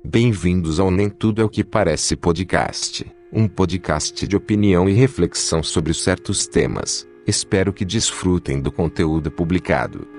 Bem-vindos ao Nem Tudo é o que Parece podcast, um podcast de opinião e reflexão sobre certos temas. Espero que desfrutem do conteúdo publicado.